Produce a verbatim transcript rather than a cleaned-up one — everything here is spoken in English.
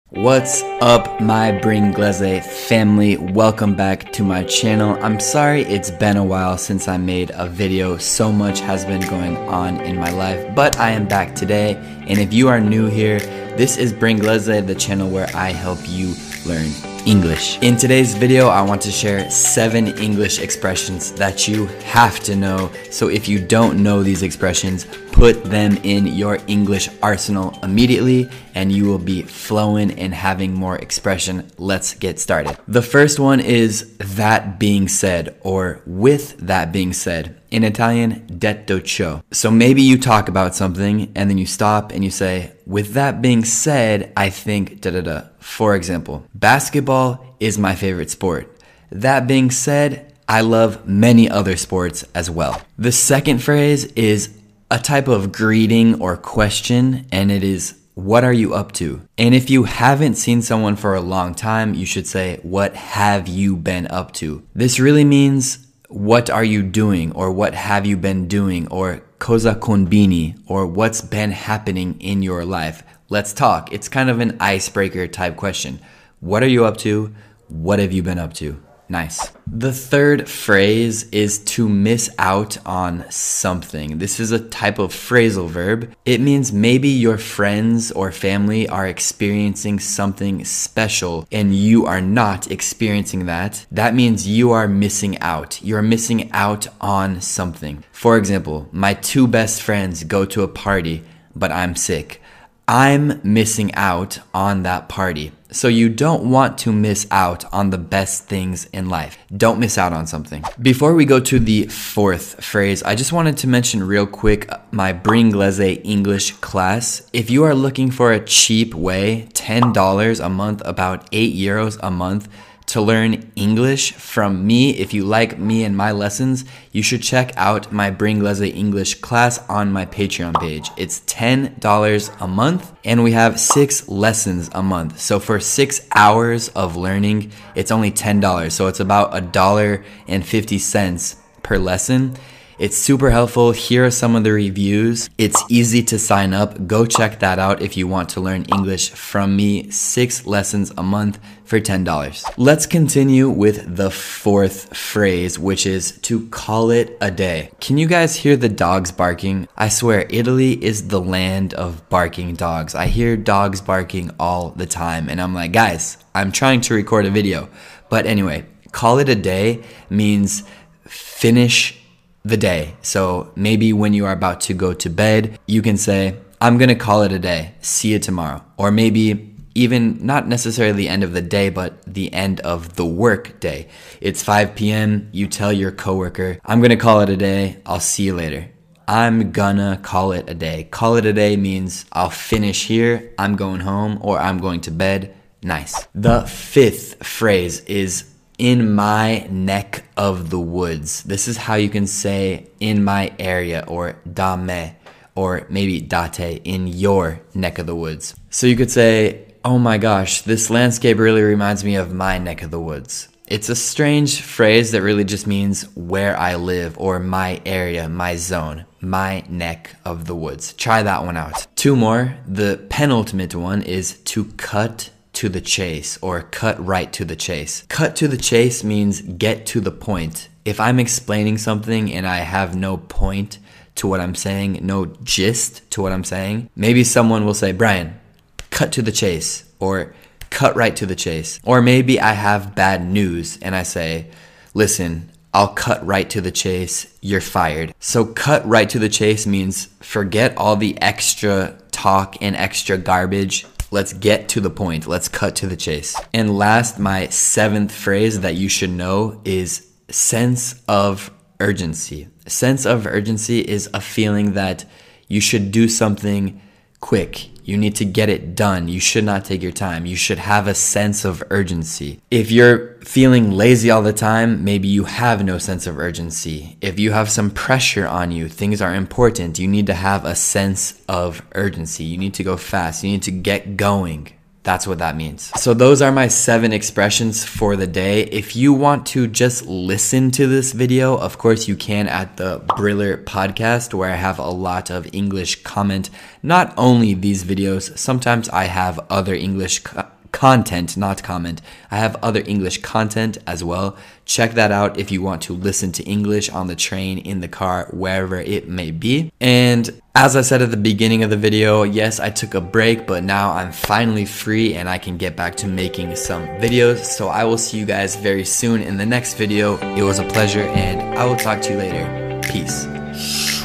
What's up, my Bringlese family? Welcome back to my channel. I'm sorry it's been a while since I made a video. So much has been going on in my life, but I am back today. And if you are new here, this is Bringlese, the channel where I help you learn English. In today's video, I want to share seven English expressions that you have to know. So if you don't know these expressions, put them in your English arsenal immediately and you will be flowing and having more expression. Let's get started. The first one is that being said, or with that being said. In Italian, detto ciò. So maybe you talk about something and then you stop and you say, with that being said, I think da da da. For example, basketball is my favorite sport. That being said, I love many other sports as well. The second phrase is a type of greeting or question, and it is, what are you up to? And if you haven't seen someone for a long time, you should say, what have you been up to? This really means, what are you doing? Or what have you been doing? Or cosa combini? Or what's been happening in your life? Let's talk. It's kind of an icebreaker type question. What are you up to? What have you been up to? Nice. The third phrase is to miss out on something. This is a type of phrasal verb. It means maybe your friends or family are experiencing something special and you are not experiencing that. That means you are missing out. You're missing out on something. For example, my two best friends go to a party, but I'm sick. I'm missing out on that party. So you don't want to miss out on the best things in life. Don't miss out on something. Before we go to the fourth phrase, I just wanted to mention real quick my Bringlese English class. If you are looking for a cheap way, ten dollars a month, about eight euros a month, to learn English from me, if you like me and my lessons, you should check out my Bringlese English class on my Patreon page. It's ten dollars a month and we have six lessons a month. So for six hours of learning, it's only ten dollars. So it's about a dollar and fifty cents per lesson. It's super helpful. Here are some of the reviews. It's easy to sign up. Go check that out if you want to learn English from me. Six lessons a month for ten dollars. Let's continue with the fourth phrase, which is to call it a day. Can you guys hear the dogs barking? I swear, Italy is the land of barking dogs. I hear dogs barking all the time and I'm like, guys, I'm trying to record a video. But anyway, call it a day means finish the day. So maybe when you are about to go to bed, you can say, I'm gonna call it a day. See you tomorrow. Or maybe even not necessarily the end of the day, but the end of the work day. It's five p.m. You tell your coworker, I'm gonna call it a day. I'll see you later. I'm gonna call it a day. Call it a day means I'll finish here, I'm going home, or I'm going to bed. Nice. The fifth phrase is in my neck of the woods. This is how you can say in my area, or da me, or maybe date, in your neck of the woods. So you could say, oh my gosh, this landscape really reminds me of my neck of the woods. It's a strange phrase that really just means where I live, or my area, my zone, my neck of the woods. Try that one out. Two more. The penultimate one is to cut to the chase, or cut right to the chase. Cut to the chase means get to the point. If I'm explaining something and I have no point to what I'm saying, no gist to what I'm saying, maybe someone will say, Brian, cut to the chase, or cut right to the chase. Or maybe I have bad news and I say, listen, I'll cut right to the chase, you're fired. So cut right to the chase means forget all the extra talk and extra garbage. Let's get to the point. Let's cut to the chase. And last, my seventh phrase that you should know is sense of urgency. Sense of urgency is a feeling that you should do something quick. You need to get it done. You should not take your time. You should have a sense of urgency. If you're feeling lazy all the time, maybe you have no sense of urgency. If you have some pressure on you, things are important, you need to have a sense of urgency. You need to go fast. You need to get going. That's what that means. So those are my seven expressions for the day. If you want to just listen to this video, of course you can at the Briller podcast, where I have a lot of English comment. Not only these videos, sometimes I have other English co- content, not comment. I have other English content as well. Check that out if you want to listen to English on the train, in the car, wherever it may be. And as I said at the beginning of the video, yes, I took a break, but now I'm finally free and I can get back to making some videos. So I will see you guys very soon in the next video. It was a pleasure and I will talk to you later. Peace.